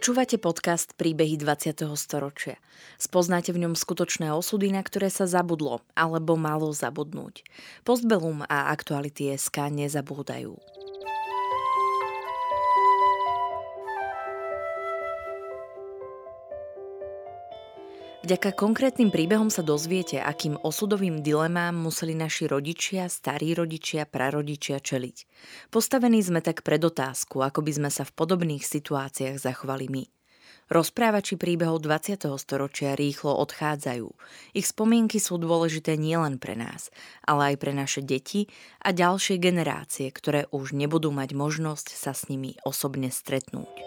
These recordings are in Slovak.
Počúvate podcast Príbehy 20. storočia. Spoznáte v ňom skutočné osudy, na ktoré sa zabudlo alebo malo zabudnúť. Postbellum a Aktuality.sk nezabúdajú. Vďaka konkrétnym príbehom sa dozviete, akým osudovým dilemám museli naši rodičia, starí rodičia, prarodičia čeliť. Postavení sme tak pred otázku, ako by sme sa v podobných situáciách zachovali my. Rozprávači príbehov 20. storočia rýchlo odchádzajú. Ich spomienky sú dôležité nielen pre nás, ale aj pre naše deti a ďalšie generácie, ktoré už nebudú mať možnosť sa s nimi osobne stretnúť.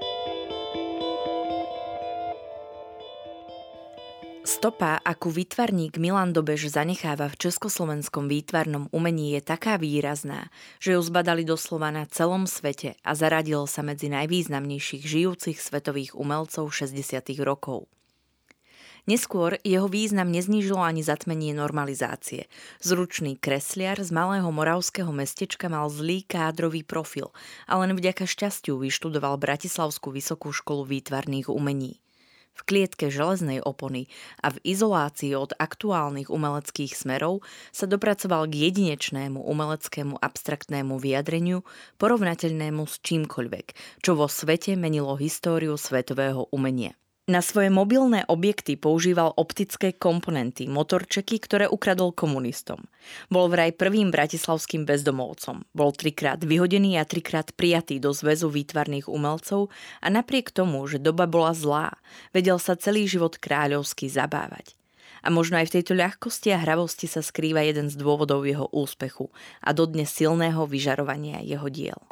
Stopa, akú výtvarník Milan Dobeš zanecháva v československom výtvarnom umení, je taká výrazná, že ju zbadali doslova na celom svete a zaradil sa medzi najvýznamnejších žijúcich svetových umelcov 60. rokov. Neskôr jeho význam neznížilo ani zatmenie normalizácie. Zručný kresliar z malého moravského mestečka mal zlý kádrový profil a len vďaka šťastiu vyštudoval Bratislavskú vysokú školu výtvarných umení. V klietke železnej opony a v izolácii od aktuálnych umeleckých smerov sa dopracoval k jedinečnému umeleckému abstraktnému vyjadreniu, porovnateľnému s čímkoľvek, čo vo svete menilo históriu svetového umenia. Na svoje mobilné objekty používal optické komponenty, motorčeky, ktoré ukradol komunistom. Bol vraj prvým bratislavským bezdomovcom. Bol 3-krát vyhodený a 3-krát prijatý do zväzu výtvarných umelcov a napriek tomu, že doba bola zlá, vedel sa celý život kráľovsky zabávať. A možno aj v tejto ľahkosti a hravosti sa skrýva jeden z dôvodov jeho úspechu a dodnes silného vyžarovania jeho diel.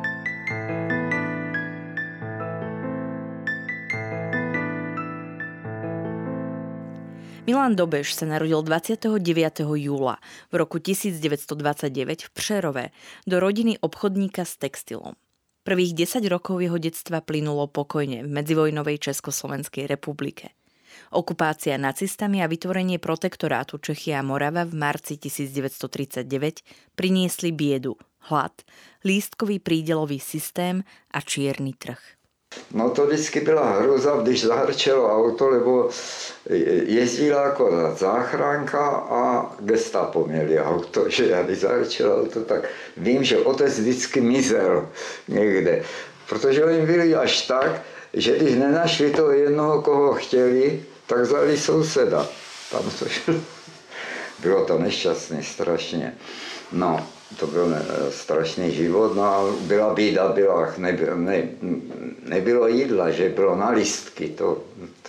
Milan Dobeš sa narodil 29. júla v roku 1929 v Přerove do rodiny obchodníka s textilom. Prvých 10 rokov jeho detstva plynulo pokojne v medzivojnovej Československej republike. Okupácia nacistami a vytvorenie protektorátu Čechy a Morava v marci 1939 priniesli biedu, hlad, lístkový prídelový systém a čierny trh. No to vždycky byla hruza, když zahrčelo auto, lebo jezdila jako záchranka a gestapo měli auto, že já když zahrčelo auto, tak vím, že otec vždycky mizel někde, protože oni byli až tak, že když nenašli toho jednoho, koho chtěli, tak vzali souseda. Tam to šlo. Bylo to nešťastné strašně. No, to byl strašný život, no a byla bída, nebylo jídla, že bylo na listky, to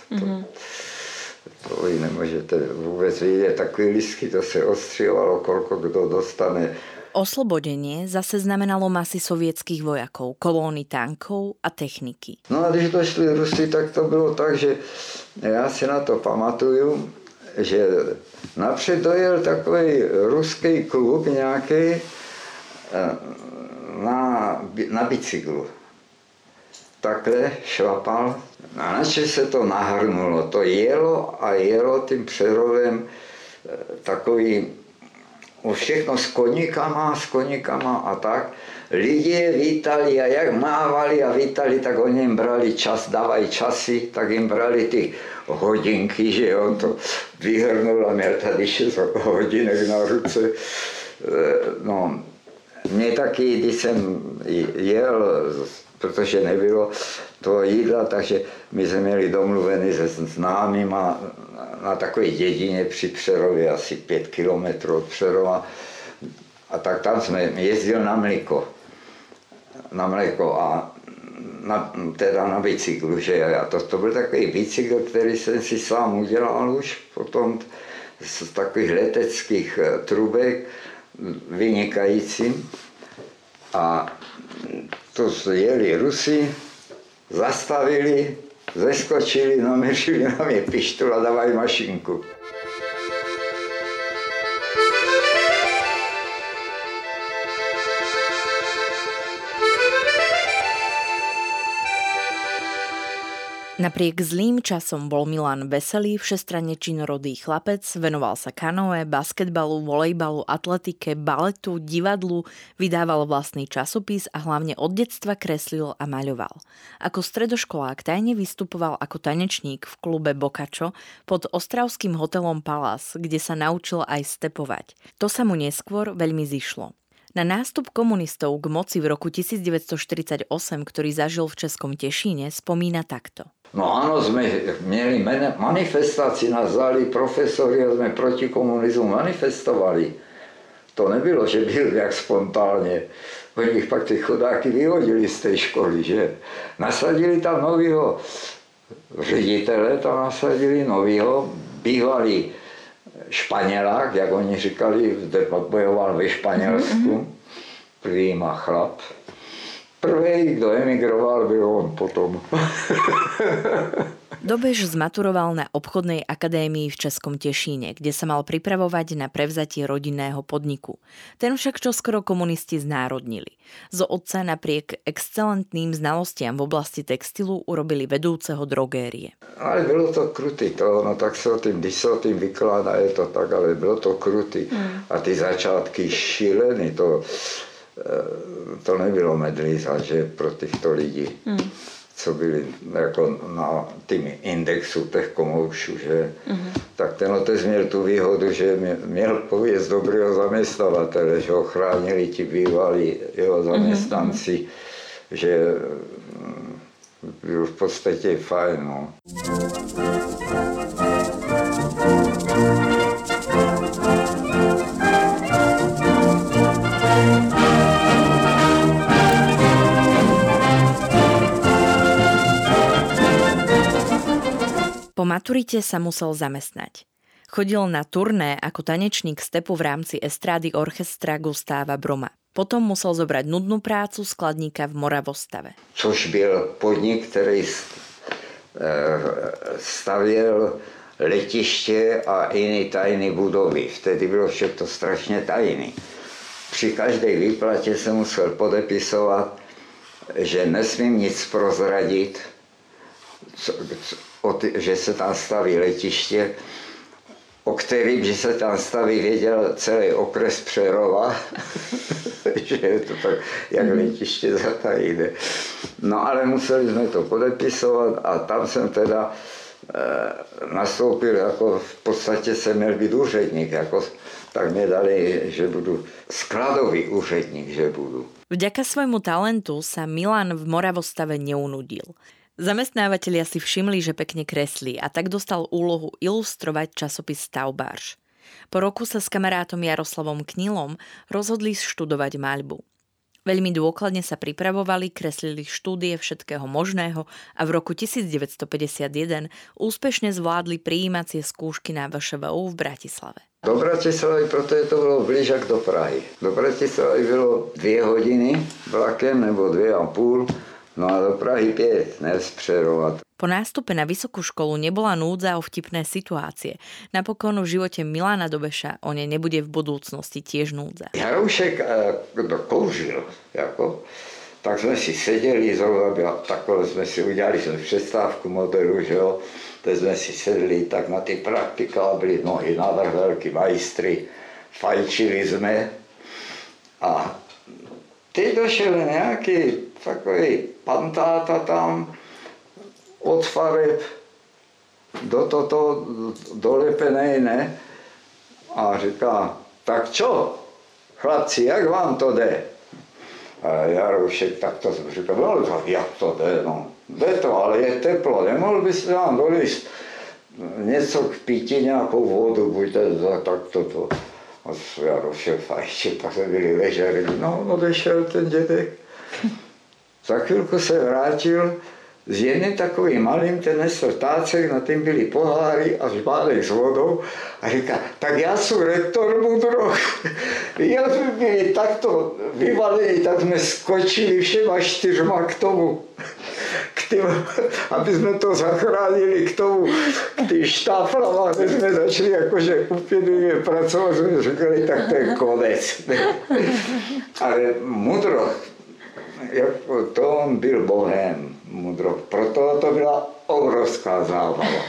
vy nemůžete vůbec vidět, takové listky, to se ostřívalo, koľko kdo dostane. Oslobodenie zase znamenalo masy sovietských vojakov, kolóny tankov a techniky. No a když došli Rusy, tak to bylo tak, že já si na to pamatuju, že napřed dojel takový ruský klub nějaký na bicyklu. Takhle šlapal a načež se to nahrnulo. To jelo a jelo tím Přerovem takový všechno s koníkama a tak. Lidi je vítali a jak mávali a vítali, tak oni jim brali čas, dávají časy, tak jim brali ty hodinky, že on to vyhrnul a měl tady 6 hodinek na ruce. No, mě taky, když jsem jel, protože nebylo toho jídla, takže my jsme měli domluvený se známýma na takové dědině při Přerově, asi 5 kilometrů od Přerova. A tak tam jsme jezdili na mléko a teda na bicyklu, že a to byl takový bicykl, který jsem si sám udělal už potom z takových leteckých trubek, vynikající. A to jeli Rusi, zastavili, zeskočili, naměřili na mě pištol a dávají mašinku. Napriek zlým časom bol Milan veselý, všestranne činorodý chlapec, venoval sa kanoe, basketbalu, volejbalu, atletike, baletu, divadlu, vydával vlastný časopis a hlavne od detstva kreslil a maľoval. Ako stredoškolák tajne vystupoval ako tanečník v klube Boccaccio pod ostravským hotelom Palace, kde sa naučil aj stepovať. To sa mu neskôr veľmi zišlo. Na nástup komunistov k moci v roku 1948, ktorý zažil v Českom Tešíne, spomína takto. No áno, sme mieli manifestácii, nás dali profesori a sme proti komunizmu manifestovali. To nebylo, že byl jak spontánne. Oni ich pak tí chudáky vyhodili z tej školy, že? Nasadili tam novýho ředitele, tam nasadili novýho, bývalý Španělák, jak oni říkali, bojoval ve Španělsku, prvý má chlap. Prvý, kto emigroval, byl on potom. Dobež zmaturoval na obchodnej akadémii v Českom Tešíne, kde sa mal pripravovať na prevzatie rodinného podniku. Ten však čoskoro komunisti znárodnili. Zo otca napriek excelentným znalostiam v oblasti textilu urobili vedúceho drogérie. Ale bylo to krutý, no tak sa o tým, když sa o tým vykládá, je to tak, ale bylo to krutý. A ty začátky šílený, to nebylo medlíza, že pro těchto lidí, co byli jako na tým indexu těch komoušů, že? Tak ten otec měl tu výhodu, že měl pověst dobrého zaměstnavatele, že ho chránili ti bývalí jeho zaměstnanci, že byl v podstatě fajn. No. Po maturite sa musel zamestnať. Chodil na turné ako tanečník stepu v rámci estrády orchestra Gustáva Broma. Potom musel zobrať nudnú prácu skladníka v Moravostave. Což byl podnik, který stavěl letiště a jiné tajné budovy. Vtedy bylo všechno strašně tajné. Při každé výplatě se musel podepisovat, že nesmím nic prozradit, že se tam staví letiště, o kterým, že se tam staví, věděl celý okres Přerova, že je to tak, jak letiště zatajíne. No ale museli jsme to podepisovat a tam jsem teda nastoupil, jako v podstatě jsem měl být úředník, jako, tak mě dali, že budu skladový úředník, že budu. Vďaka svojmu talentu sa Milan v Moravostave neunudil. Zamestnávateľia si všimli, že pekne kreslí a tak dostal úlohu ilustrovať časopis Stavbář. Po roku sa s kamarátom Jaroslavom Knilom rozhodli študovať maľbu. Veľmi dôkladne sa pripravovali, kreslili štúdie všetkého možného a v roku 1951 úspešne zvládli prijímacie skúšky na VŠVU v Bratislave. Do Bratislavy, protože to bylo blíž jak do Prahy. Do Bratislavy bylo 2 hodiny vlakem nebo 2,5, no a do Prahy 5, ne z Přerova. Po nástupe na vysokú školu nebola núdza o vtipné situácie. Napokon v živote Milana Dobeša o nej nebude v budúcnosti tiež núdza. Jaroušek kouřil, jako, tak jsme si seděli, zrovna takhle jsme si udělali přestávku modelu, že jo. Teď jsme si sedli tak na ty praktikábly, nohy navrch, velký majstry, fajčili jsme a teď došel nějaký takový pantáta tam od fareb do toto dolepenej, ne? A říká, tak čo, chlapci, jak vám to jde? A Jaroušek tak to říká, no tak jak to jde, no. Jde to, ale je teplo, nemohl byste nám dolíst něco k pití, nějakou vodu, buďte tak toto. A Jaroušek fajčil, tak jsme byli leželi, no odešel ten dědek. Za chvilku se vrátil s jedným takovým malým, ten nesl tácek, na tým byli poháry a žbálek s vodou a říká, tak já jsem rektor Mudroch. Já jsme byli takto vyvalení, tak jsme skočili všema 4 k tomu, aby jsme to zachránili k tomu, k tým štáflám, kde jsme začali jakože úplně pracovat, jsme říkali, tak to je konec. Ale Mudroch, to on byl bohem, Mudroch. Proto to byla obrovská zábava.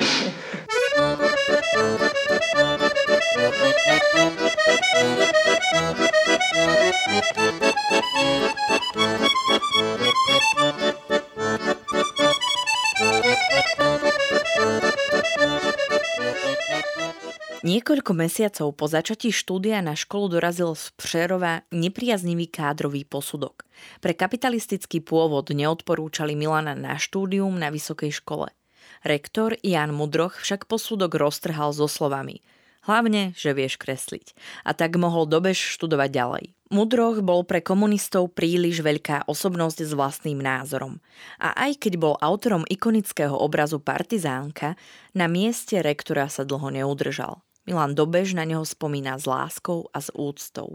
Niekoľko mesiacov po začatí štúdia na školu dorazil z Přerova nepriaznivý kádrový posudok. Pre kapitalistický pôvod neodporúčali Milana na štúdium na vysokej škole. Rektor Jan Mudroch však posudok roztrhal so slovami: hlavne, že vieš kresliť. A tak mohol Dobeš študovať ďalej. Mudroch bol pre komunistov príliš veľká osobnosť s vlastným názorom. A aj keď bol autorom ikonického obrazu Partizánka, na mieste rektora sa dlho neudržal. Milan Dobeš na neho spomína s láskou a s úctou.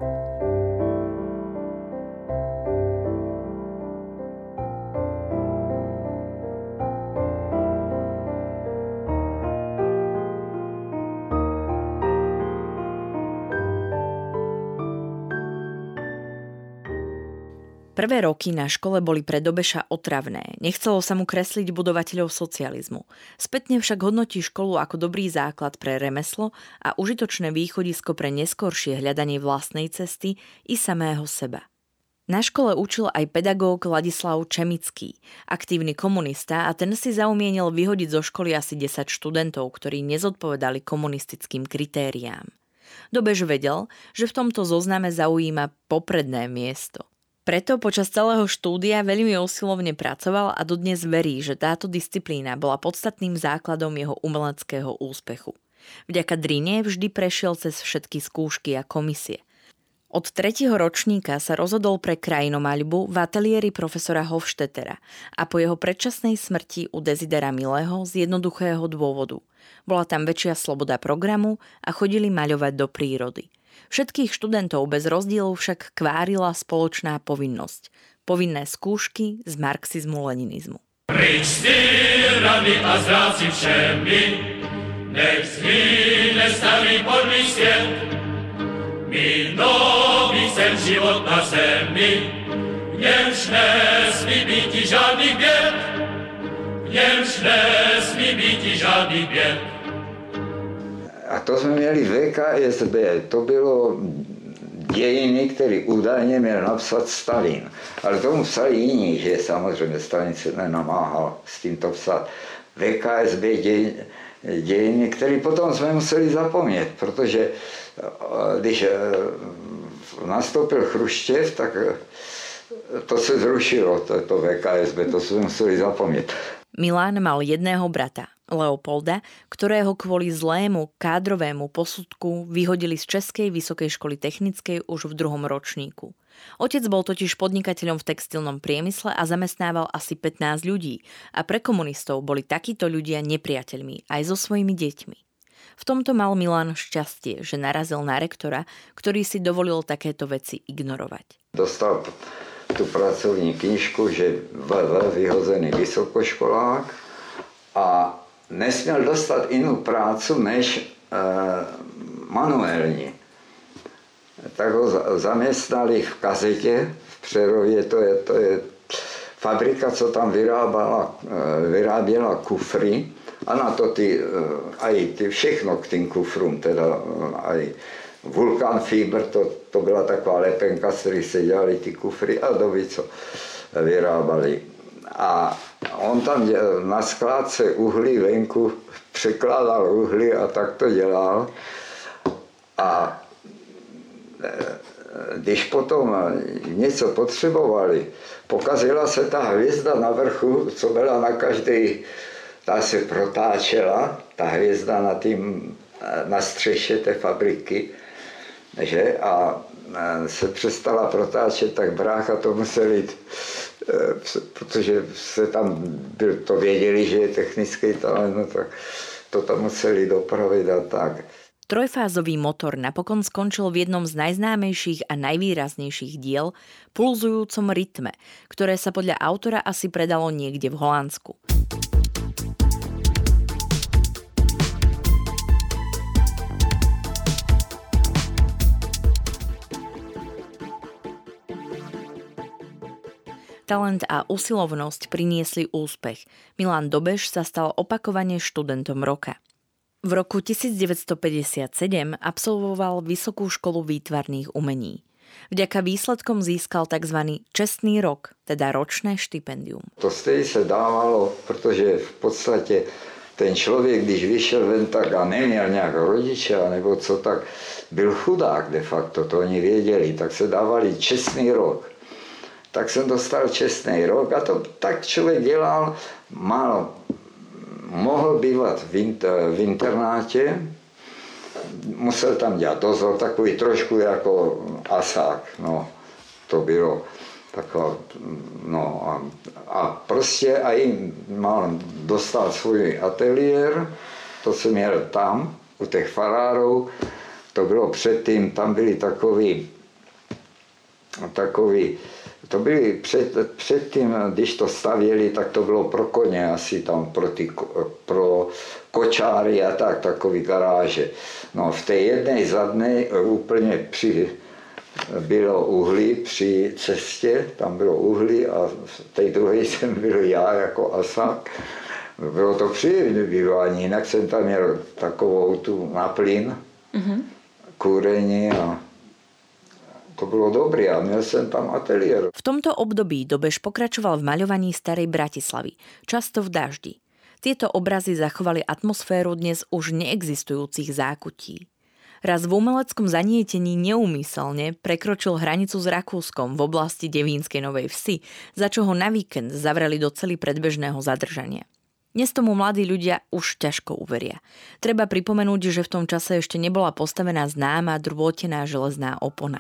Prvé roky na škole boli pre Dobeša otravné. Nechcelo sa mu kresliť budovateľov socializmu. Spätne však hodnotí školu ako dobrý základ pre remeslo a užitočné východisko pre neskoršie hľadanie vlastnej cesty i samého seba. Na škole učil aj pedagóg Ladislav Čemický, aktívny komunista, a ten si zaumienil vyhodiť zo školy asi 10 študentov, ktorí nezodpovedali komunistickým kritériám. Dobeš vedel, že v tomto zozname zaujíma popredné miesto. Preto počas celého štúdia veľmi usilovne pracoval a dodnes verí, že táto disciplína bola podstatným základom jeho umeleckého úspechu. Vďaka drine vždy prešiel cez všetky skúšky a komisie. Od 3. ročníka sa rozhodol pre krajinomaľbu v ateliéri profesora Hofstettera a po jeho predčasnej smrti u Desidera Milého z jednoduchého dôvodu. Bola tam väčšia sloboda programu a chodili maľovať do prírody. Všetkých študentov bez rozdielu však kvárila spoločná povinnosť. Povinné skúšky z marxizmu-leninizmu. Pryč s tyrami a zráci všemi, nech zhyne starý podlý sviet. My nový chcem život na zemi, v němž nesmí býti žádných běd, v němž nesmí býti žádných běd. A to jsme měli VKSB, to bylo dějiny, které údajně měl napsat Stalin. Ale tomu psali jiní, že samozřejmě Stalin se nenamáhal s tímto psat. VKSB dějiny, které potom jsme museli zapomnět, protože když nastoupil Chruščev, tak to se zrušilo, to VKSB, to jsme museli zapomnět. Milan mal jedného brata, Leopolda, ktorého kvôli zlému kádrovému posudku vyhodili z Českej vysokej školy technickej už v 2. ročníku. Otec bol totiž podnikateľom v textilnom priemysle a zamestnával asi 15 ľudí a pre komunistov boli takíto ľudia nepriateľmi aj so svojimi deťmi. V tomto mal Milan šťastie, že narazil na rektora, ktorý si dovolil takéto veci ignorovať. Dostal tu pracovní knížku, že vyhozený vysokoškolák a nesměl dostat jinou prácu než manuální. Tak ho zaměstnali v Kazetě v Přerově, to je fabrika, co tam vyráběla kufry a na to aj všechno k tým kufrům, teda aj Vulkan Fiber, to byla taková lepenka, z kterých se dělali ty kufry a doby, co vyrábali. A on tam na skládce uhlí venku překládal uhlí a tak to dělal. A když potom něco potřebovali, pokazila se ta hvězda na vrchu, co byla na každé, ta se protáčela, ta hvězda na střeše té fabriky, že? A se přestala protáčet, tak brácha to musel jít, protože se tam to věděli, že je technický talent, no tak to tam museli dopravit a tak. Trojfázový motor napokon skončil v jednom z najznámejších a najvýraznejších diel, pulzujúcom rytme, ktoré sa podľa autora asi predalo niekde v Holandsku. Talent a usilovnosť priniesli úspech. Milan Dobeš sa stal opakovane študentom roka. V roku 1957 absolvoval Vysokú školu výtvarných umení. Vďaka výsledkom získal tzv. Čestný rok, teda ročné štipendium. To stejně se dávalo, protože v podstatě ten člověk, když vyšel ven tak a neměl nějak rodiče, nebo co, tak byl chudák de facto, to oni věděli, tak se dávali čestný rok. Tak jsem dostal čestný rok a to tak člověk dělal, mohl bývat v internátě, musel tam dělat dozor, takový trošku jako asák, no, to bylo taková, no a prostě i dostal svůj ateliér, to jsem měl tam, u těch farárů, to bylo předtím, tam byli takový, to byly předtím, když to stavěli, tak to bylo pro koně, asi tam pro kočáry a tak, takový garáže. No v té jedné zadné úplně bylo uhlí při cestě, tam bylo uhlí a v té druhé jsem byl já jako asák. Bylo to příjemné bývání, jinak jsem tam měl takovou tu na plyn, kúrení a to bolo dobré a měl jsem tam ateliér. V tomto období Dobeš pokračoval v maľovaní starej Bratislavy, často v daždi. Tieto obrazy zachovali atmosféru dnes už neexistujúcich zákutí. Raz v umeleckom zanietení neúmyselne prekročil hranicu s Rakúskom v oblasti Devínskej Novej Vsi, za čo ho na víkend zavreli do cely predbežného zadržania. Dnes tomu mladí ľudia už ťažko uveria. Treba pripomenúť, že v tom čase ešte nebola postavená známa drôtená železná opona.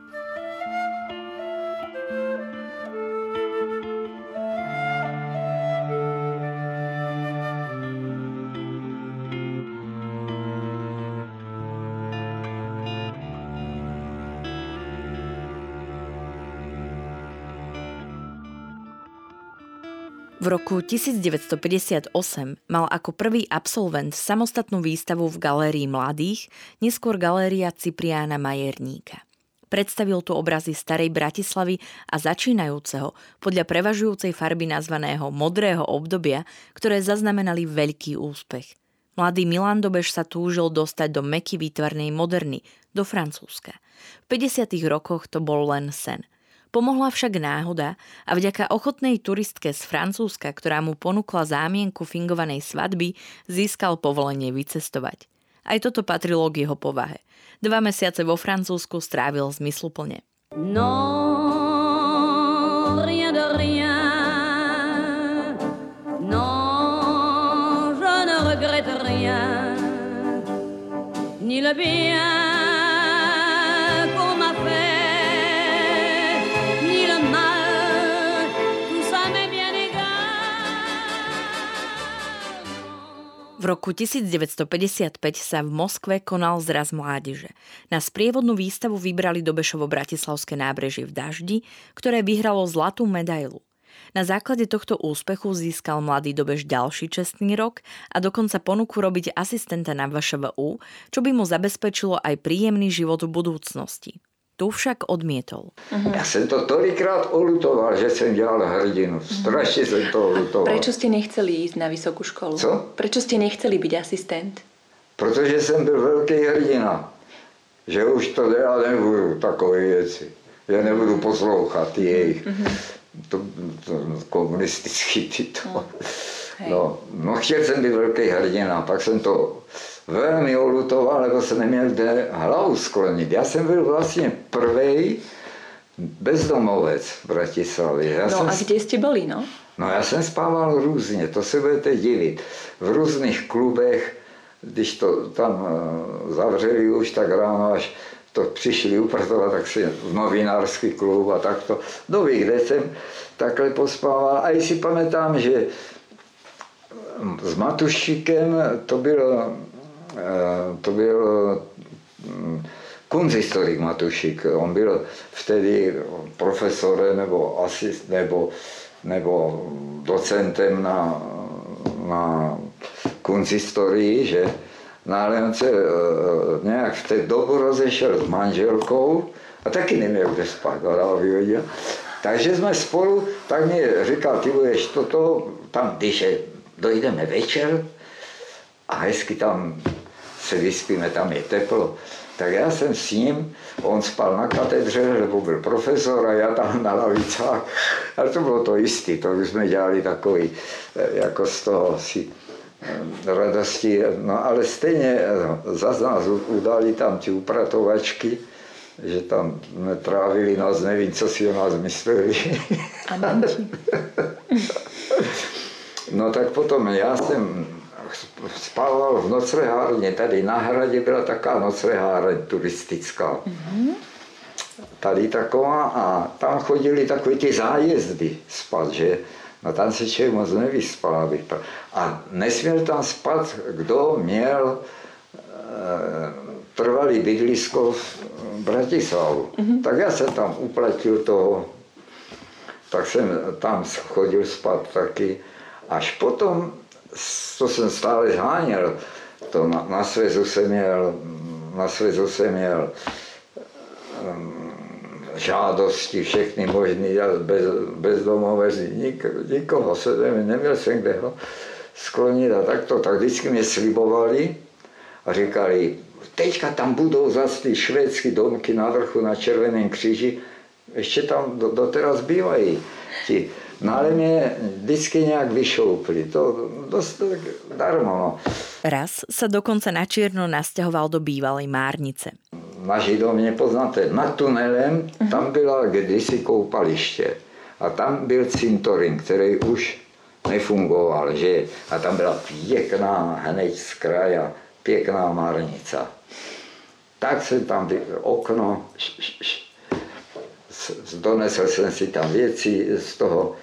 V roku 1958 mal ako prvý absolvent samostatnú výstavu v Galérii mladých, neskôr Galéria Cipriána Majerníka. Predstavil tu obrazy starej Bratislavy a začínajúceho, podľa prevažujúcej farby nazvaného modrého obdobia, ktoré zaznamenali veľký úspech. Mladý Milan Dobeš sa túžil dostať do mäkky výtvarnej moderny, do Francúzska. V 50. rokoch to bol len sen. Pomohla však náhoda a vďaka ochotnej turistke z Francúzska, ktorá mu ponúkla zámienku fingovanej svadby, získal povolenie vycestovať. Aj toto patrilo k jeho povahe. 2 mesiace vo Francúzsku strávil zmysluplne. Non, rien de rien. Non, je ne regrette rien. Ni le bien qu'on m'a fait. V roku 1955 sa v Moskve konal zraz mládeže. Na sprievodnú výstavu vybrali Dobešovo bratislavské nábrežie v daždi, ktoré vyhralo zlatú medailu. Na základe tohto úspechu získal mladý Dobeš ďalší čestný rok a dokonca ponuku robiť asistenta na VŠVU, čo by mu zabezpečilo aj príjemný život v budúcnosti. Tu však odmietol. Ja som to tolikrát olutoval, že som dělal hrdinu. Strašne som to olutoval. Prečo ste nechceli ísť na vysokú školu? Co? Prečo ste nechceli byť asistent? Protože jsem byl velký hrdina. Že už to já nebudu takové věci. Já nebudu poslouchat jejich. To komunistický tyto. No, chtěl jsem být velký hrdina, pak jsem to velmi olutoval, lebo jsem neměl kde hlavu sklonit. Já jsem byl vlastně prvej bezdomovec v Bratislavě. Kde ste boli, no? No já jsem spával různě, to se budete divit. V různých klubech, když to tam zavřeli už tak ráno, až to přišli upratovat, tak si v novinářský klub a takto. Doví, kde jsem takhle pospával. A si pamätám, že s Matušíkem to byl kunsthistorik Matušík. On byl vtedy profesorem nebo docentem na kunsthistorii, že? No ale on se nějak v té dobu rozešel s manželkou a taky neměl kde spát, vyhodil. Takže jsme spolu, tak mi říkal, ty budeš toto, tam, když dojdeme večer a hezky tam se vyspíme, tam je teplo. Tak já jsem s ním, on spal na katedře, lebo byl profesor a já tam na lavicách. Ale to bylo to jistý, to už jsme dělali takový, jako z toho si radosti. No ale stejně zase nás udali tam ti upratovačky, že tam jsme trávili noc, nevím, co si o nás mysleli. No tak potom já jsem spával v noclehárně, tady na hradě byla taká nocleháreň turistická. Tady taková a tam chodili takové ty zájezdy spát, že? No tam se člověk moc nevyspal. A nesměl tam spát, kdo měl trvalý bydlisko v Bratislavu. Tak já jsem tam uplatil toho, tak jsem tam chodil spát taky. Až potom, to jsem stále zháněl, to na svezu jsem měl žádosti všechny možný, bezdomové, nikoho se neměl jsem kde ho sklonit a takto. Tak vždycky mě slibovali a říkali, teďka tam budou zase ty švédské domky na vrchu na Červeném kříži, ještě tam doteraz bývají ti. No ale mě vždycky nějak vyšoupli, to dost darmo. No. Raz sa dokonca na čierno nasťahoval do bývalej Márnice. Naši dom nepoznáte, nad tunelem tam byla kdysi koupaliště a tam byl cintorín, který už nefungoval, že? A tam byla pěkná, hned z kraja, pěkná Márnica. Tak jsem tam okno, donesl jsem si tam věci z toho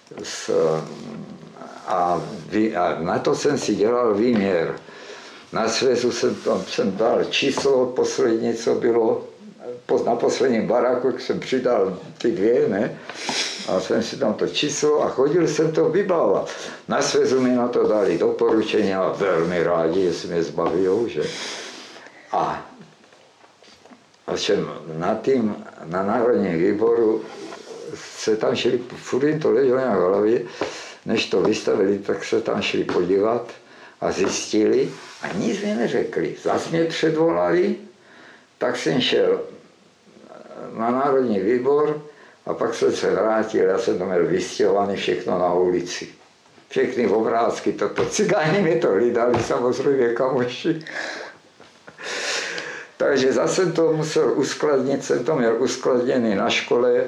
a na to jsem si dělal výměr. Na svezu jsem dal číslo poslední, co bylo, na posledním baráku jsem přidal ty dvě, ne? A jsem si tam to číslo a chodil jsem to vybávat. Na svezu mi na to dali doporučení a velmi rádi, jestli mě zbavijou, že? A na Národním výboru se tam šli, furt jim to leželo nějak v hlavě, než to vystavili, tak se tam šli podívat a zjistili a nic mi neřekli. Zas mě předvolali, tak jsem šel na Národní výbor a pak jsem se vrátil, já jsem to měl vystěhovaný všechno na ulici. Všechny obrázky, toto cigáni mi to hlídali, samozřejmě kamoši. Takže zase to musel uskladnit, jsem to měl uskladněný na škole.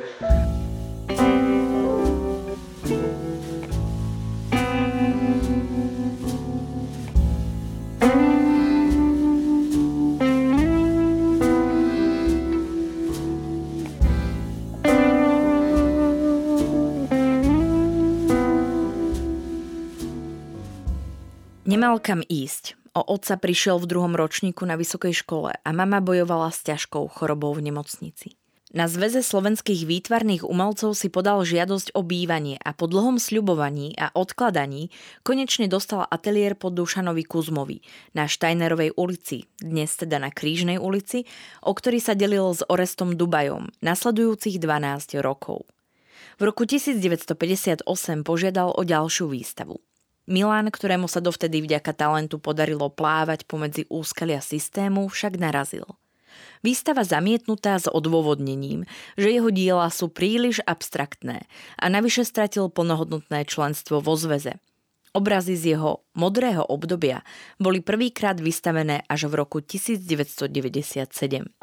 Nemal kam ísť. O otca prišiel v 2. ročníku na vysokej škole a mama bojovala s ťažkou chorobou v nemocnici. Na Zväze slovenských výtvarných umelcov si podal žiadosť o bývanie a po dlhom sľubovaní a odkladaní konečne dostal ateliér po Dušanovi Kuzmovi na Štajnerovej ulici, dnes teda na Krížnej ulici, o ktorý sa delil s Orestom Dubajom nasledujúcich 12 rokov. V roku 1958 požiadal o ďalšiu výstavu. Milan, ktorému sa dovtedy vďaka talentu podarilo plávať pomedzi úskalia systému, však narazil. Výstava zamietnutá s odôvodnením, že jeho diela sú príliš abstraktné a navyše stratil plnohodnotné členstvo vo zväze. Obrazy z jeho modrého obdobia boli prvýkrát vystavené až v roku 1997.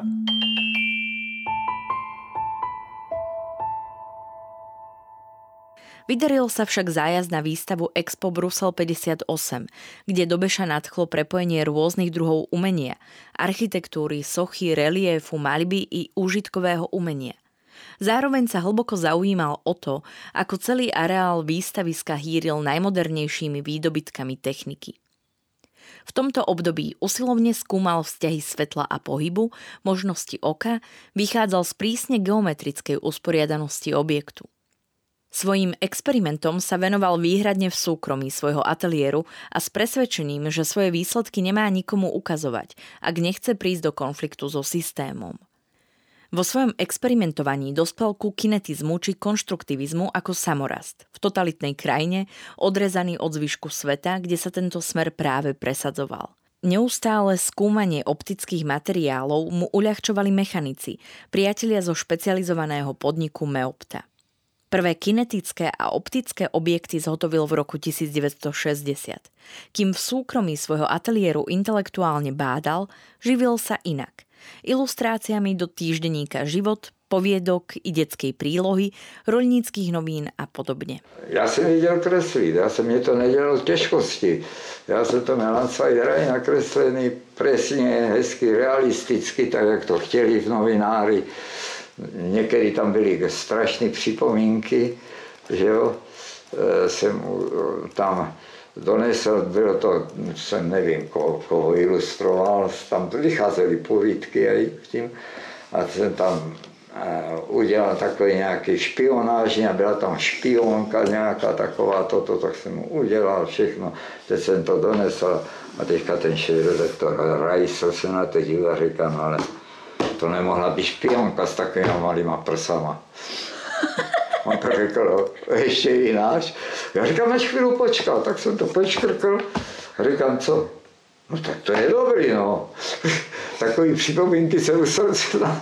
Vydaril sa však zájazd na výstavu Expo Brusel 58, kde Dobeša nadchlo prepojenie rôznych druhov umenia, architektúry, sochy, reliefu, maľby i úžitkového umenia. Zároveň sa hlboko zaujímal o to, ako celý areál výstaviska hýril najmodernejšími výdobytkami techniky. V tomto období usilovne skúmal vzťahy svetla a pohybu, možnosti oka, vychádzal z prísne geometrickej usporiadanosti objektu. Svojím experimentom sa venoval výhradne v súkromí svojho ateliéru a s presvedčením, že svoje výsledky nemá nikomu ukazovať, ak nechce prísť do konfliktu so systémom. Vo svojom experimentovaní dospel ku kinetizmu či konštruktivizmu ako samorast. V totalitnej krajine, odrezaný od zvyšku sveta, kde sa tento smer práve presadzoval. Neustále skúmanie optických materiálov mu uľahčovali mechanici, priatelia zo špecializovaného podniku Meopta. Prvé kinetické a optické objekty zhotovil v roku 1960. Kým v súkromí svojho ateliéru intelektuálne bádal, živil sa inak. Ilustráciami do týždenníka Život, poviedok i detskej prílohy, roľníckých novín a podobne. Já jsem věděl kreslit, mě to nedělalo těžkosti. Já jsem to měl na celý raj nakreslený presně, hezky, realisticky, tak jak to chtěli v novináři. Někdy tam byly strašné připomínky, že jo, jsem tam donesl, bylo to, jsem nevím, koho ilustroval, tam vycházely povídky aj tím, a jsem tam udělal takový nějaký špionáž, a byla tam špionka nějaká taková, tak jsem mu udělal všechno, teď jsem to donesl a teďka ten šéfredaktor Rajsl se na to díval a říká, no ale to nemohla být špionka s takovými malýma prsama. On to řekl, ještě jináš. Já říkám, než chvíli počkal, tak jsem to počkrkl. Říkám, co? No tak to je dobrý, no. Takový připomínky se musel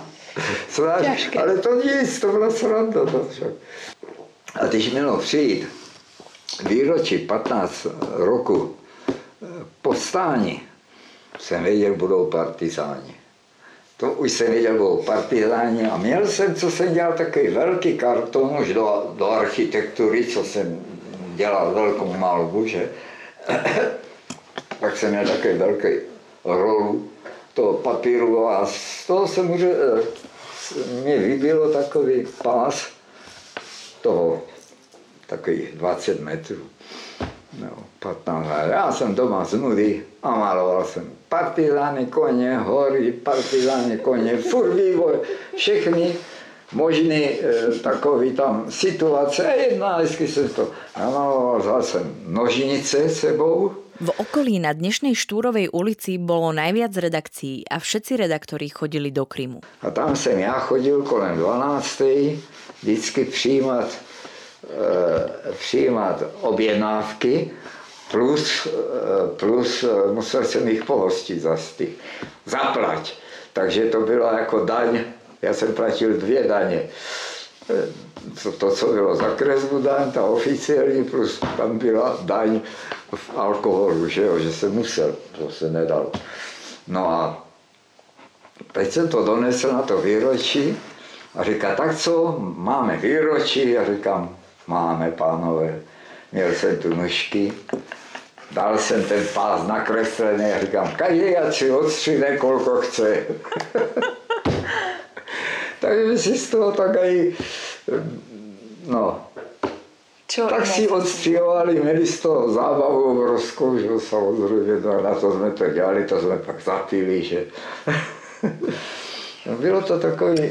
snáš, ale to nic, to byla sranda. To však. A když mělo přijít výročí 15 roku povstání, jsem věděl, budou partizáni. To už jsem věděl, budou partizáni a měl jsem, co jsem dělal, takový velký karton už do architektury, co jsem dělal velkou malbu, že? Tak jsem měl takový velký rolu toho papíru a z toho se mě vybilo takový pás toho, takových 20 metrů. No, 15 let. Já jsem doma z nudy a maloval jsem partizány, koně, hory, partizány, koně, furt vývoj, všechny možný takový tam situace. Jedna, vždycky jsem to namaloval, vzal jsem nožnice sebou. V okolí na dnešnej Štúrovej ulici bolo najviac redakcií a všetci redaktori chodili do Krymu. A tam jsem já chodil kolem 12. vždycky přijímat objednávky, plus musel jsem jich pohostit zaplať. Takže to bylo jako daň, já jsem platil 2 daně. To, co bylo za kresbu daň, ta oficiální, plus tam byla daň v alkoholu, že jsem musel, to se nedalo. No a teď jsem to donesl na to výročí a říká, tak co, máme výročí? A říkám, máme, pánové. Měl jsem tu nůžky, dal jsem ten pás nakreslený a říkám, každý ať si odstřihne, kolko chce. Takže si z toho tak aj, no, tak si odstřihovali, měli z toho zábavu obrovskou, že samozřejmě, na to jsme to dělali, to jsme pak zapili, že. Bylo to takový,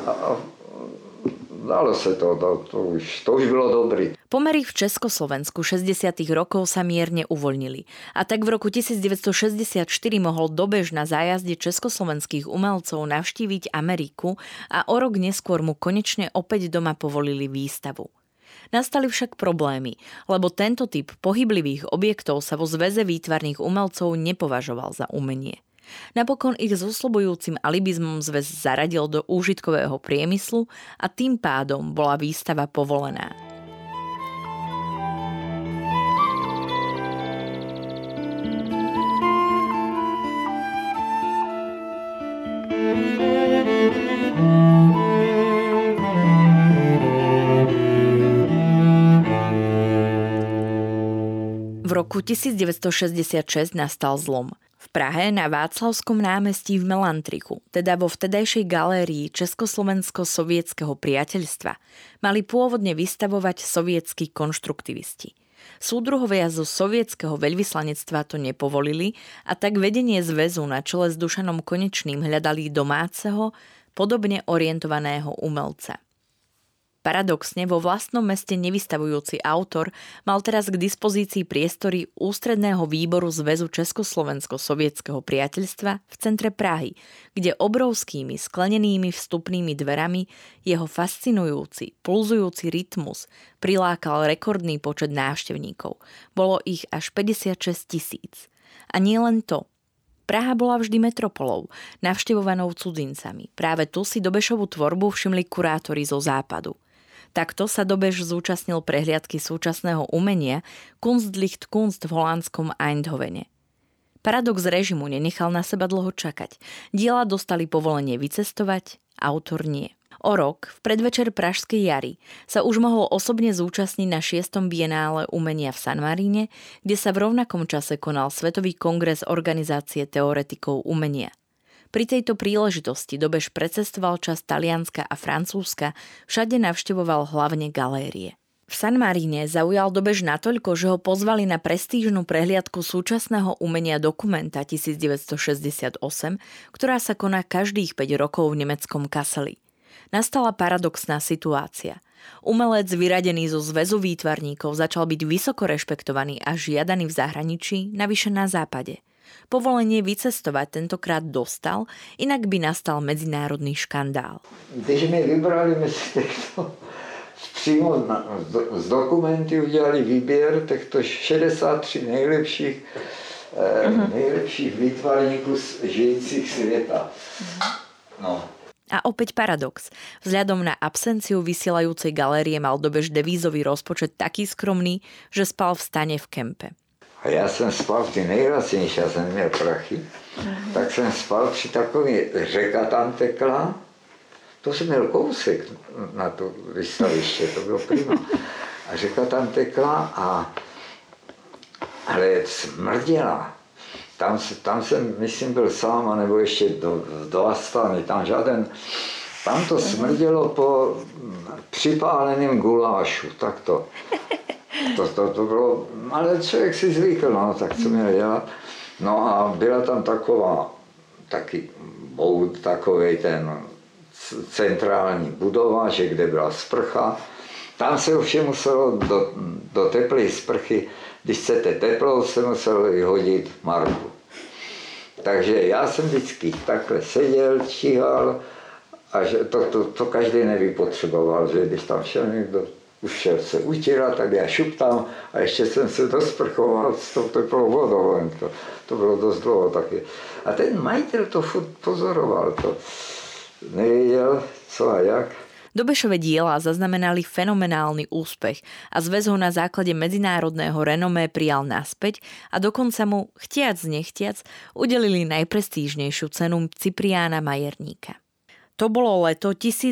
dalo se to už bylo dobrý. Pomery v Československu 60. rokov sa mierne uvoľnili a tak v roku 1964 mohol Dobeš na zájazde československých umelcov navštíviť Ameriku a o rok neskôr mu konečne opäť doma povolili výstavu. Nastali však problémy, lebo tento typ pohyblivých objektov sa vo Zväze výtvarných umelcov nepovažoval za umenie. Napokon ich s osľubujúcim alibizmom zväz zaradil do úžitkového priemyslu a tým pádom bola výstava povolená. V roku 1966 nastal zlom. V Prahe na Václavskom námestí v Melantrichu, teda vo vtedajšej galérii Československo-sovietskeho priateľstva, mali pôvodne vystavovať sovietskí konštruktivisti. Súdruhovia zo sovietskeho veľvyslanectva to nepovolili a tak vedenie zväzu na čele s Dušanom Konečným hľadali domáceho, podobne orientovaného umelca. Paradoxne vo vlastnom meste nevystavujúci autor mal teraz k dispozícii priestory Ústredného výboru Zväzu Československo-sovietskeho priateľstva v centre Prahy, kde obrovskými sklenenými vstupnými dverami jeho fascinujúci, pulzujúci rytmus prilákal rekordný počet návštevníkov. Bolo ich až 56 000. A nie len to. Praha bola vždy metropolou, navštevovanou cudzincami. Práve tu si Dobešovu tvorbu všimli kurátori zo západu. Takto sa Dobeš zúčastnil prehliadky súčasného umenia Kunstlicht Kunst v holandskom Eindhovene. Paradox režimu nenechal na seba dlho čakať. Diela dostali povolenie vycestovať, autor nie. O rok, v predvečer Pražskej jary, sa už mohol osobne zúčastniť na 6. bienále umenia v San Maríne, kde sa v rovnakom čase konal Svetový kongres Organizácie teoretikov umenia. Pri tejto príležitosti Dobeš precestoval časť Talianska a Francúzska, všade navštevoval hlavne galérie. V San Maríne zaujal Dobeš natoľko, že ho pozvali na prestížnu prehliadku súčasného umenia Dokumenta 1968, ktorá sa koná každých 5 rokov v nemeckom Kasseli. Nastala paradoxná situácia. Umelec vyradený zo Zväzu výtvarníkov začal byť vysoko rešpektovaný a žiadaný v zahraničí, navyše na západe. Povolenie vycestovať tentokrát dostal, inak by nastal medzinárodný škandál. Když mi vybrali mezi těchto, přímo z dokumenty udělali výběr těchto 63 nejlepších výtvarníků žijících světa. No. A opäť paradox. Vzhľadom na absenciu vysielajúcej galérie mal Dobeš devízový rozpočet taký skromný, že spal v stane v kempe. A já jsem spal v ty nejlacenější, já jsem měl prachy, tak jsem spal při takový řeka tam tekla. To jsem měl kousek na to vystaviště, to bylo prima. A řeka tam tekla ale smrděla. Tam jsem, myslím, byl sám, anebo ještě do Astany, tam to smrdělo po připáleném gulášu, tak to bylo, ale člověk si zvykl, no, tak co měl dělat. No a byla tam taky boud, takovej ten centrální budova, že kde byla sprcha. Tam se ovšem muselo do teplé sprchy, když chcete teplo, se muselo vyhodit marku. Takže já jsem vždycky takhle seděl, číhal a že to každý nevypotřeboval, že když tam šel někdo, už šel se utírat, tak já šup tam a ještě jsem se dosprchoval s tou teplou vodou. To bylo dost dlouho taky. A ten majitel to furt pozoroval, to nevěděl co a jak. Dobešove diela zaznamenali fenomenálny úspech a zväz ho na základe medzinárodného renomé prijal naspäť a dokonca mu, chtiac nechtiac, udelili najprestížnejšiu cenu Cipriána Majerníka. To bolo leto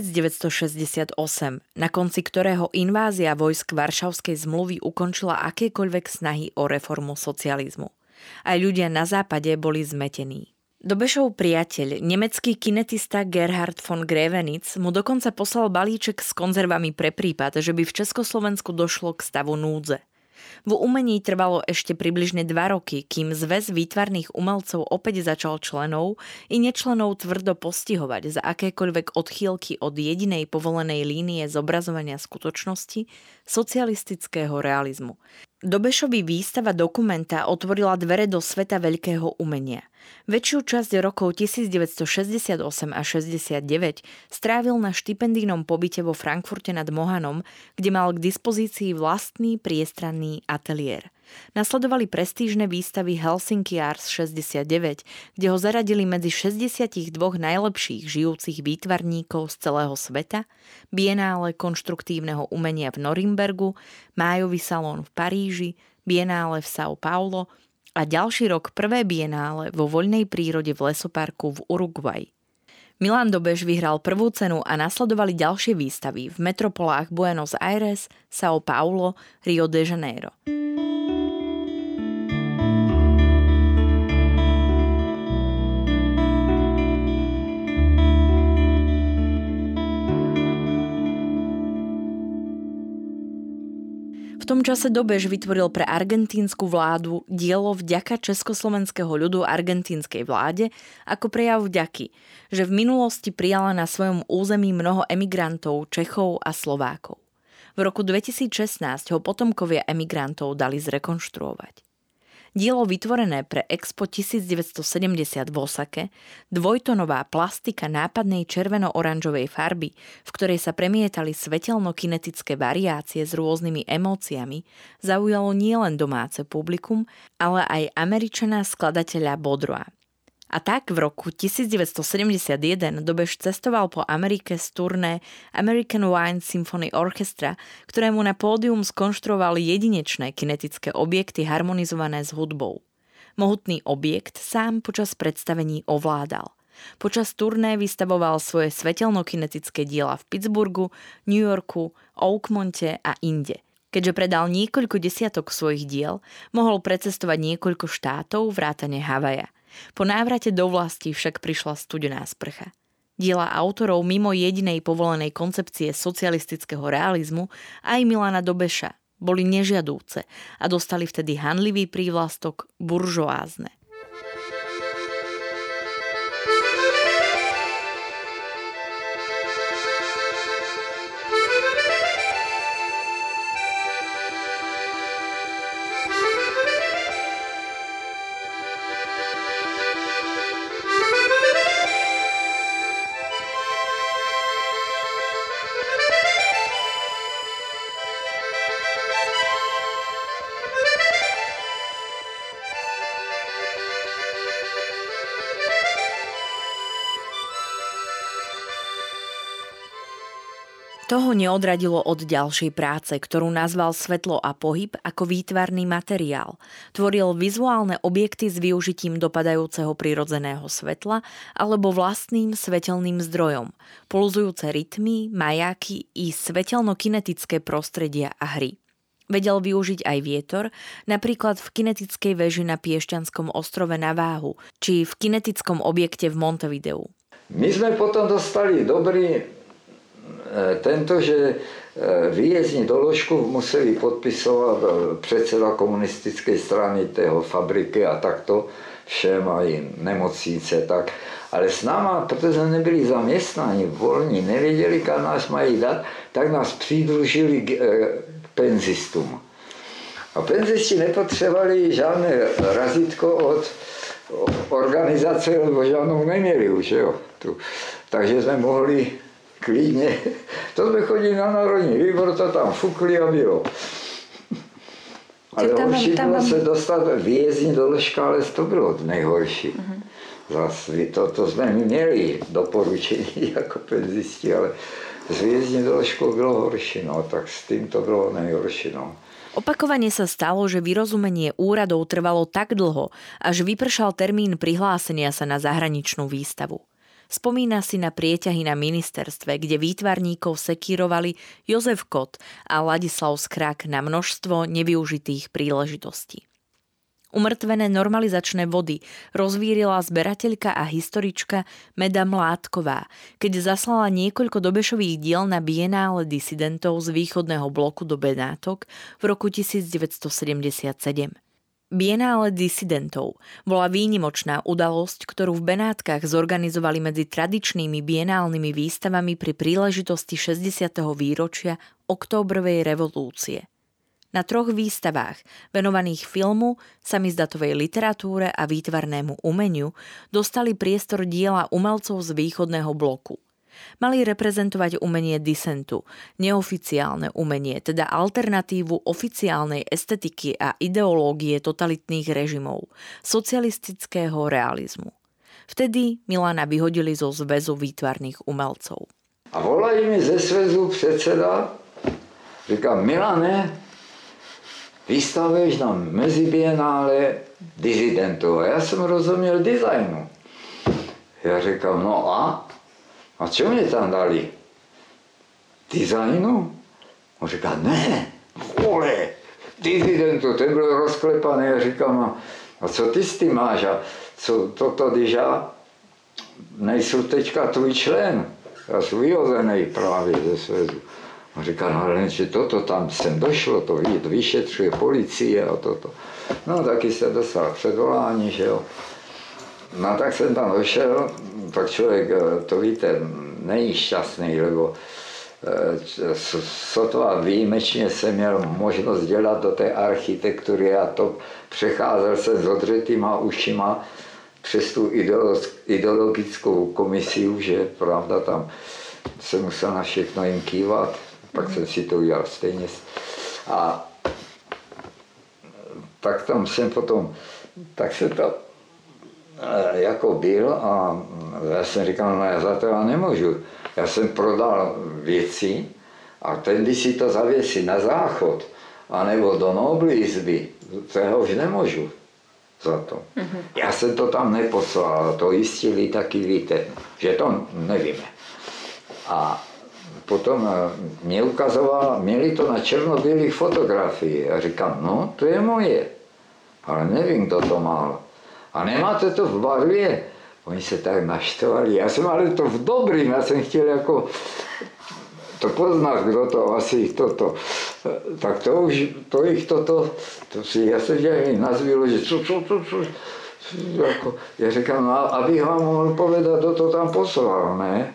1968, na konci ktorého invázia vojsk Varšavskej zmluvy ukončila akékoľvek snahy o reformu socializmu. Aj ľudia na západe boli zmetení. Dobešov priateľ, nemecký kinetista Gerhard von Grevenitz mu dokonca poslal balíček s konzervami pre prípad, že by v Československu došlo k stavu núdze. V umení trvalo ešte približne 2 roky, kým Zväz výtvarných umelcov opäť začal členov i nečlenov tvrdo postihovať za akékoľvek odchýlky od jedinej povolenej línie zobrazovania skutočnosti socialistického realizmu. Dobešovi výstava Dokumenta otvorila dvere do sveta veľkého umenia. Väčšiu časť rokov 1968 a 69 strávil na štipendijnom pobyte vo Frankfurte nad Mohanom, kde mal k dispozícii vlastný priestranný ateliér. Nasledovali prestížne výstavy Helsinki Arts 69, kde ho zaradili medzi 62 najlepších žijúcich výtvarníkov z celého sveta, Bienále konštruktívneho umenia v Norimbergu, Májový salón v Paríži, Bienále v São Paulo a ďalší rok prvé Bienále vo voľnej prírode v lesoparku v Uruguay. Milan Dobeš vyhral prvú cenu a nasledovali ďalšie výstavy v metropolách Buenos Aires, São Paulo, Rio de Janeiro. V tom čase Dobeš vytvoril pre argentínsku vládu dielo Vďaka československého ľudu argentínskej vláde ako prejav vďaky, že v minulosti prijala na svojom území mnoho emigrantov, Čechov a Slovákov. V roku 2016 ho potomkovia emigrantov dali zrekonštruovať. Dielo vytvorené pre Expo 1970 v Osake, dvojtonová plastika nápadnej červeno-oranžovej farby, v ktorej sa premietali svetelno-kinetické variácie s rôznymi emóciami, zaujalo nielen domáce publikum, ale aj Američana skladateľa Baudroa. A tak v roku 1971 Dobeš cestoval po Amerike z turné American Wine Symphony Orchestra, ktorému na pódium skonštruovali jedinečné kinetické objekty harmonizované s hudbou. Mohutný objekt sám počas predstavení ovládal. Počas turné vystavoval svoje svetelno-kinetické diela v Pittsburghu, New Yorku, Oakmonte a inde. Keďže predal niekoľko desiatok svojich diel, mohol precestovať niekoľko štátov vrátane Havaja. Po návrate do vlasti však prišla studená sprcha. Diela autorov mimo jedinej povolenej koncepcie socialistického realizmu aj Milana Dobeša boli nežiadúce a dostali vtedy hanlivý prívlastok buržoázne. Toho neodradilo od ďalšej práce, ktorú nazval Svetlo a pohyb ako výtvarný materiál. Tvoril vizuálne objekty s využitím dopadajúceho prirodzeného svetla alebo vlastným svetelným zdrojom, pulzujúce rytmy, majáky i svetelno-kinetické prostredia a hry. Vedel využiť aj vietor, napríklad v kinetickej veži na Piešťanskom ostrove na Váhu, či v kinetickom objekte v Montevideu. My sme potom dostali dobrý tento, že výjezdní doložku museli podpisovat předseda komunistické strany tého fabriky a takto všem, aj nemocnice, tak. Ale s náma, protože nebyli zaměstnáni, volní, nevěděli, kam nás mají dát, tak nás přidružili k penzistům. A penzisti nepotřebovali žádné razítko od organizace, lebo žádnou neměli už, jo. Takže jsme mohli klidně. To jsme chodili na národní výbor, to tam fukli a bylo. Ale horší bylo se dostat výjezdní doložka, ale to bylo nejhorší. Zase to jsme měli doporučení jako penzisti, ale s výjezdní doložkou bylo horší, no, tak s tým to bylo nejhorší, no. Opakovane sa stalo, že vyrozumenie úradov trvalo tak dlho, až vypršal termín prihlásenia sa na zahraničnú výstavu. Spomína si na prieťahy na ministerstve, kde výtvarníkov sekírovali Jozef Kot a Ladislav Skrak na množstvo nevyužitých príležitostí. Umrtvené normalizačné vody rozvírila zberateľka a historička Meda Mládková, keď zaslala niekoľko Dobešových diel na Bienále disidentov z východného bloku do Benátok v roku 1977. Bienále disidentov bola výnimočná udalosť, ktorú v Benátkach zorganizovali medzi tradičnými bienálnymi výstavami pri príležitosti 60. výročia októbrovej revolúcie. Na 3 výstavách, venovaných filmu, samizdatovej literatúre a výtvarnému umeniu, dostali priestor diela umelcov z východného bloku. Mali reprezentovať umenie disentu, neoficiálne umenie, teda alternatívu oficiálnej estetiky a ideológie totalitných režimov, socialistického realizmu. Vtedy Milana vyhodili zo zväzu výtvarných umelcov. A volají mi ze zväzu predseda, říká: Milane, vystavuješ na mezibienále disidentů. A já jsem rozuměl designu. Já říkám: no a? A čo mě tam dali? Designu? On říká: ne, vole, disidentů, ten byl rozklepaný. Já říkám: a co ty s tím máš? A co toto, když já nejsou teďka tvůj člen? Já jsem vyhozený právě ze svězu. On říká, no ale že toto tam sem došlo, to vyšetřuje policie a toto. No taky se dostal předvolání, že jo. No tak jsem tam došel, tak člověk, to víte, není šťastný, lebo sotva výjimečně jsem měl možnost dělat do té architektury a to přecházel jsem s odřetýma ušima přes tu ideologickou komisiu, že pravda tam se musel na všechno jim kývat, pak jsem si to udělal stejně. A tak tam jsem potom, tak se to jako byl a já jsem říkal, no já za to já nemůžu. Já jsem prodal věci a ten, když si to zavěsí na záchod, anebo do Nobly izby, to já už nemůžu za to. Já jsem to tam neposlal, to jistili taky víte, že to nevíme. A potom mě ukazoval, měli to na černobílých fotografiích a říkám, no to je moje, ale nevím, kdo to mal. A nemáte to v barvě? Oni se tak naštvali. Já jsem ale to v dobrým, já jsem chtěl jako to poznat, kdo to asi toto. Tak to už, to jich toto, to si, já se dělal nazvilo, že co, jako, já říkám, no, abych vám mohl povedat, kdo to tam poslal, ne?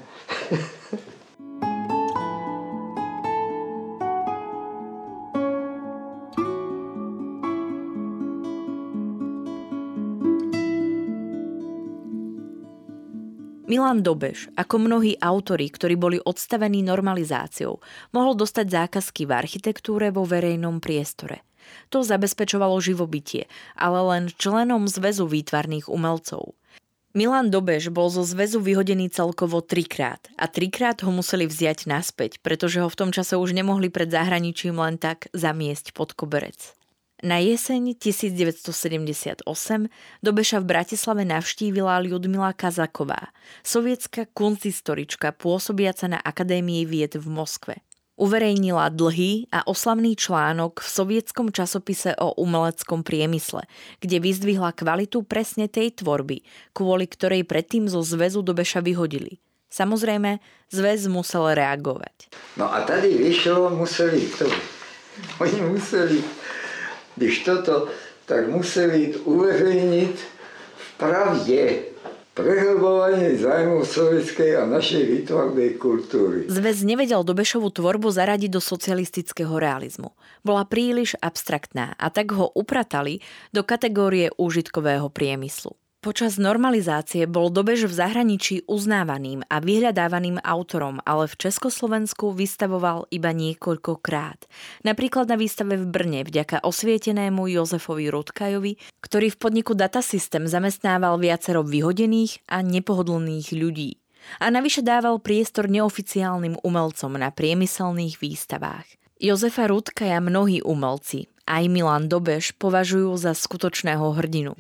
Milan Dobeš, ako mnohí autori, ktorí boli odstavení normalizáciou, mohol dostať zákazky v architektúre vo verejnom priestore. To zabezpečovalo živobytie, ale len členom Zväzu výtvarných umelcov. Milan Dobeš bol zo zväzu vyhodený celkovo 3-krát a 3-krát ho museli vziať naspäť, pretože ho v tom čase už nemohli pred zahraničím len tak zamiesť pod koberec. Na jeseň 1978 Dobeša v Bratislave navštívila Ľudmila Kazaková, sovietská kunsthistorička pôsobiaca na Akadémii vied v Moskve. Uverejnila dlhý a oslavný článok v sovietskom časopise o umeleckom priemysle, kde vyzdvihla kvalitu presne tej tvorby, kvôli ktorej predtým zo zväzu Dobeša vyhodili. Samozrejme, zväz musel reagovať. No a tady vyšlo, oni museli když toto, tak museli uveřejnit v pravdě prehlbovanie zájmov sovietskej a našej výtvarnej kultúry. Zväz nevedel Dobešovu tvorbu zaradiť do socialistického realizmu. Bola príliš abstraktná a tak ho upratali do kategórie úžitkového priemyslu. Počas normalizácie bol Dobeš v zahraničí uznávaným a vyhľadávaným autorom, ale v Československu vystavoval iba niekoľkokrát. Napríklad na výstave v Brne vďaka osvietenému Jozefovi Rutkajovi, ktorý v podniku Datasystem zamestnával viacero vyhodených a nepohodlných ľudí. A navyše dával priestor neoficiálnym umelcom na priemyselných výstavách. Jozefa Rutkaja mnohí umelci, aj Milan Dobeš, považujú za skutočného hrdinu.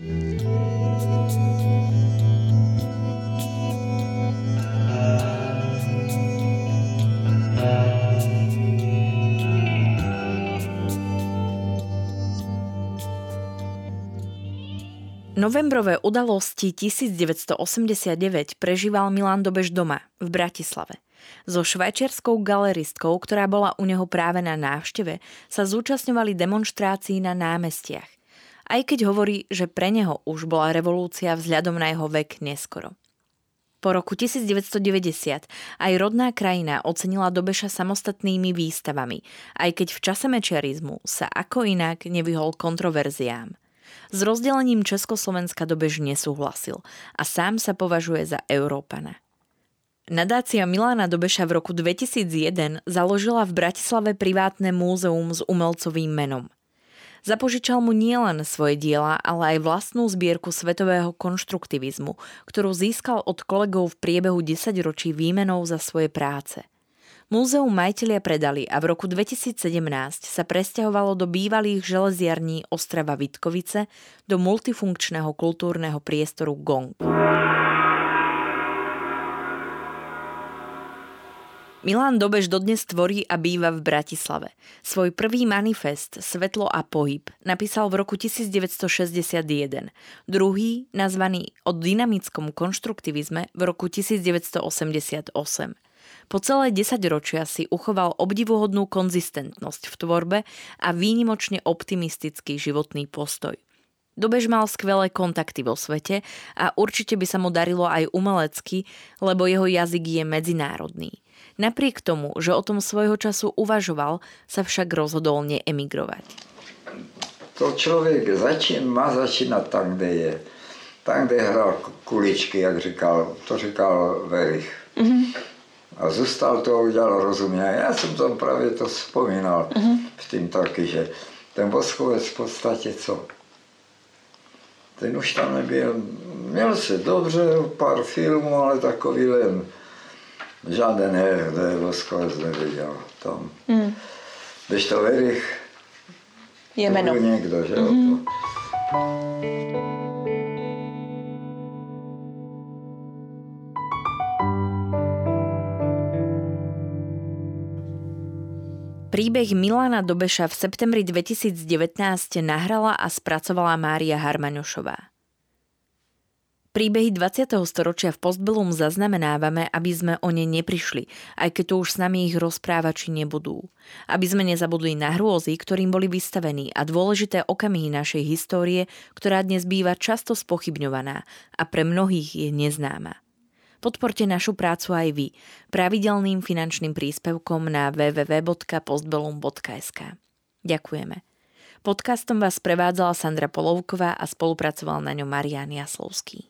Novembrové udalosti 1989 prežíval Milan Dobeš doma, v Bratislave. So švajčiarskou galeristkou, ktorá bola u neho práve na návšteve, sa zúčastňovali demonštrácií na námestiach. Aj keď hovorí, že pre neho už bola revolúcia vzhľadom na jeho vek neskoro. Po roku 1990 aj rodná krajina ocenila Dobeša samostatnými výstavami, aj keď v čase mečiarizmu sa ako inak nevyhol kontroverziám. S rozdelením Československa Dobeš nesúhlasil a sám sa považuje za Európana. Nadácia Milana Dobeša v roku 2001 založila v Bratislave privátne múzeum s umelcovým menom. Zapožičal mu nielen svoje diela, ale aj vlastnú zbierku svetového konštruktivizmu, ktorú získal od kolegov v priebehu 10 ročí výmenou za svoje práce. Múzeum majitelia predali a v roku 2017 sa presťahovalo do bývalých železiarní Ostrava Vitkovice do multifunkčného kultúrneho priestoru Gong. Milan Dobeš dodnes tvorí a býva v Bratislave. Svoj prvý manifest Svetlo a pohyb napísal v roku 1961, druhý, nazvaný O dynamickom konštruktivizme, v roku 1988. Po celé 10 ročia si uchoval obdivuhodnú konzistentnosť v tvorbe a výnimočne optimistický životný postoj. Dobež mal skvelé kontakty vo svete a určite by sa mu darilo aj umelecky, lebo jeho jazyk je medzinárodný. Napriek tomu, že o tom svojho času uvažoval, sa však rozhodol neemigrovať. To člověk má začínat tam, kde je. Tam, kde hrál kuličky, jak to říkal Verich. A zůstal to a udělal rozumě. Já jsem tam právě to vzpomínal v tím taky, že ten Voskovec v podstatě co? Ten už tam nebyl, měl se dobře, pár filmů, ale takový len žádný kde Voskovec neviděl tam. Když to Verich, je to meno. byl někdo, že jo? Príbeh Milana Dobeša v septembri 2019 nahrala a spracovala Mária Harmaňošová. Príbehy 20. storočia v Postbellum zaznamenávame, aby sme o ne neprišli, aj keď to už s nami ich rozprávači nebudú. Aby sme nezabudli na hrôzy, ktorým boli vystavení a dôležité okamihy našej histórie, ktorá dnes býva často spochybňovaná a pre mnohých je neznáma. Podporte našu prácu aj vy pravidelným finančným príspevkom na www.postbellum.sk. Ďakujeme. Podcastom vás prevádzala Sandra Polovková a spolupracoval na ňom Marián Jaslovský.